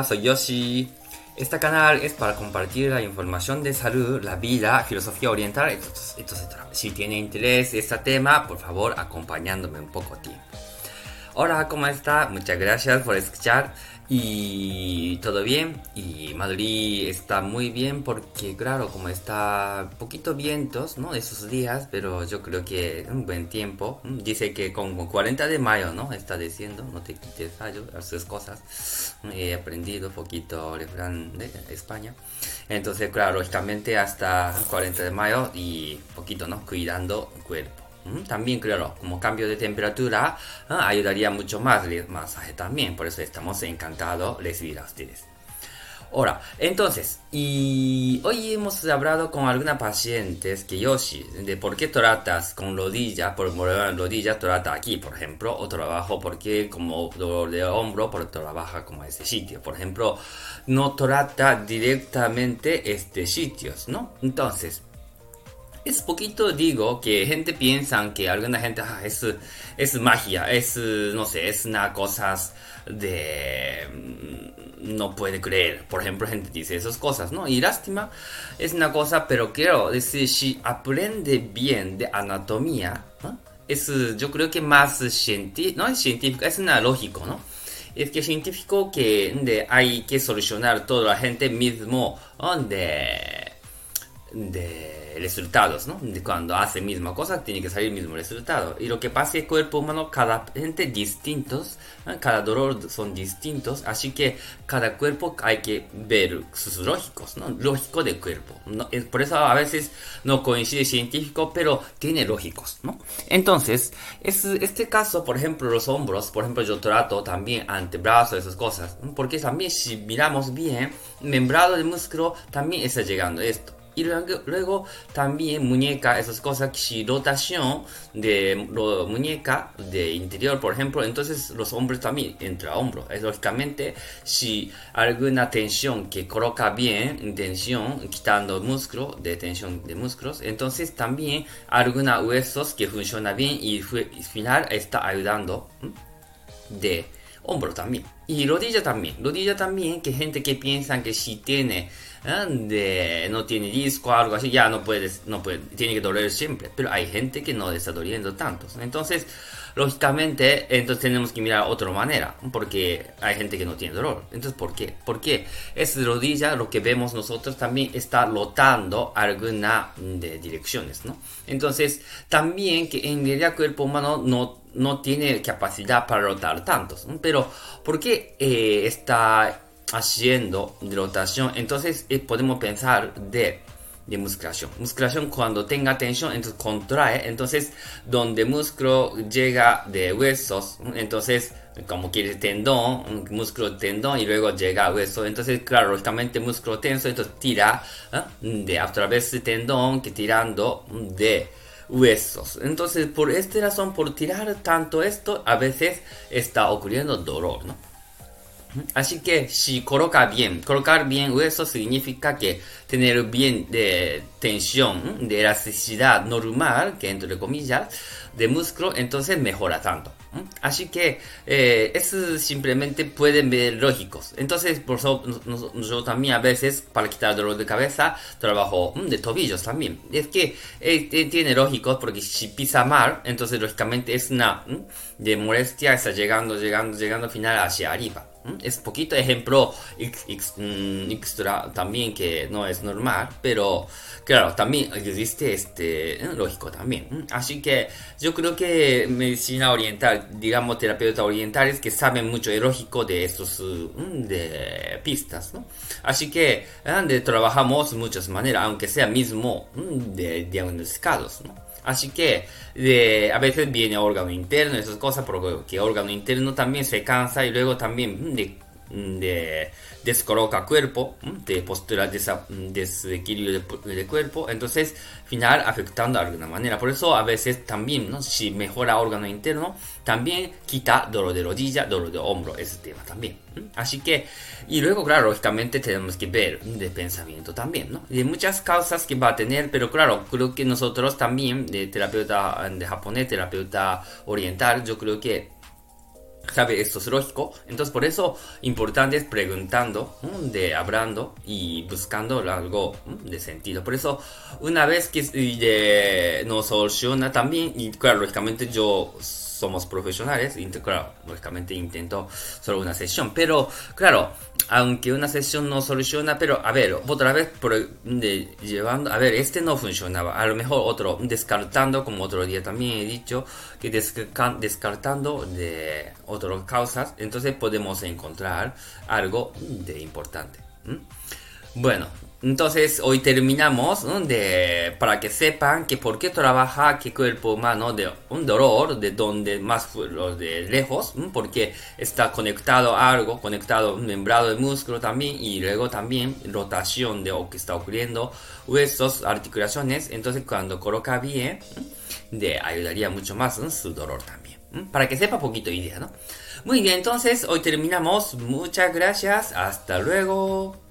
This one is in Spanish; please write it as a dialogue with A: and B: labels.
A: Hola, soy Yoshi. Este canal es para compartir la información de salud, la vida, filosofía oriental, etc. Si tiene interés en este tema, por favor, acompañándome un poco tiempo. Hola, ¿cómo está? Muchas gracias por escuchar. Y todo bien. Y Madrid está muy bien porque, claro, como está poquito vientos, ¿no? Esos días, pero yo creo que un buen tiempo. Dice que como 40 de mayo, ¿no? Está diciendo, no te quites fallo, haces cosas. He aprendido un poquito refrán de España. Entonces, claro, lógicamente hasta 40 de mayo y poquito, ¿no? Cuidando el cuerpo. También, claro, como cambio de temperatura, ayudaría mucho más el masaje también. Por eso estamos encantados de recibir a ustedes. Ahora, entonces, y hoy hemos hablado con algunas pacientes que Yoshi, de por qué tratas con rodilla, por rodilla trata aquí, por ejemplo, o trabajo porque como dolor de hombro, por trabaja como ese sitio. Por ejemplo, no trata directamente este sitios, ¿no? Entonces, es poquito digo que gente piensa que alguna gente es magia, no sé, es una cosas de no puede creer. Por ejemplo, gente dice esas cosas, ¿no? Y lástima es una cosa, pero quiero decir, si aprende bien de anatomía, ¿no? Yo creo que más científico, no es científico, es una lógico, ¿no? Es que científico que hay que solucionar toda la gente mismo, ¿no? de resultados, ¿no? De cuando hace misma cosa tiene que salir el mismo resultado. Y lo que pasa es que el cuerpo humano, cada gente distintos, ¿no? Cada dolor son distintos, así que cada cuerpo hay que ver sus lógicos, ¿no? Lógico del cuerpo, ¿no? Por eso a veces no coincide científico, pero tiene lógicos, ¿no? Entonces, este caso, por ejemplo, los hombros, por ejemplo, yo trato también antebrazos, esas cosas, ¿no? Porque también si miramos bien, membrana del músculo también está llegando esto. Y luego también muñeca, esas cosas, si rotación de muñeca de interior, por ejemplo, entonces los hombros también entra a hombro. Es lógicamente, si alguna tensión que coloca bien, tensión, quitando músculo, de tensión de músculos, entonces también algunos huesos que funcionan bien y al final está ayudando de hombro también. Y rodilla también, que gente que piensa que si tiene no tiene disco o algo así, ya no puede, tiene que doler siempre, pero hay gente que no está doliendo tanto. Entonces, lógicamente, entonces tenemos que mirar otra manera, porque hay gente que no tiene dolor. Entonces, ¿por qué? Porque esa rodilla, lo que vemos nosotros, también está rotando alguna de direcciones, ¿no? Entonces, también que en realidad el cuerpo humano no tiene capacidad para rotar tantos, ¿no? Pero, ¿por qué está haciendo rotación? Entonces podemos pensar de musculación cuando tenga tensión, entonces contrae, entonces donde músculo llega de huesos, entonces como quiere tendón, músculo tendón y luego llega a hueso, entonces claro, lógicamente músculo tenso, entonces tira de a través de tendón que tirando de huesos. Entonces por esta razón, por tirar tanto esto, a veces está ocurriendo dolor, ¿no? Así que si colocar bien hueso significa que tener bien de tensión, de elasticidad normal, que entre comillas, de músculo, entonces mejora tanto. Así que eso simplemente pueden ver lógicos. Entonces, por eso yo también a veces, para quitar dolor de cabeza, trabajo de tobillos también. Es que tiene lógicos, porque si pisa mal, entonces lógicamente es una de molestia, está llegando al final hacia arriba. Es poquito ejemplo extra también que no es normal, pero claro, también existe lógico también. Así que yo creo que medicina oriental, digamos terapeutas orientales que saben mucho de lógico de estos de pistas, ¿no? Así que trabajamos muchas maneras, aunque sea mismo de diagnosticados, ¿no? Así que a veces viene órgano interno, esas cosas, porque órgano interno también se cansa y luego también descoloca cuerpo, de postura desequilibrio de cuerpo, entonces final afectando de alguna manera. Por eso a veces también, ¿no? Si mejora órgano interno, también quita dolor de rodilla, dolor de hombro, ese tema también. Así que, y luego claro, lógicamente tenemos que ver de pensamiento también, ¿no? De muchas causas que va a tener, pero claro, creo que nosotros también, de terapeuta de japonés, terapeuta oriental, yo creo que ¿Sabe? Esto es lógico. Entonces, por eso, importante es preguntando, hablando y buscando algo de sentido. Por eso, una vez que no soluciona también, y claro, lógicamente yo somos profesionales, y claro, lógicamente intento solo una sesión. Pero, claro, aunque una sesión no soluciona, pero a ver, otra vez llevando, a ver, este no funcionaba, a lo mejor otro, descartando, como otro día también he dicho, que descartando de otras causas, entonces podemos encontrar algo de importante. Bueno, entonces hoy terminamos, ¿no? Para que sepan que por qué trabaja que cuerpo humano de un dolor de donde más los de lejos, porque está conectado a algo, conectado un membrado de músculo también y luego también rotación de lo que está ocurriendo, huesos, articulaciones, entonces cuando coloca bien, ayudaría mucho más en su dolor también. Para que sepa poquito idea, ¿no? Muy bien, entonces hoy terminamos. Muchas gracias. Hasta luego.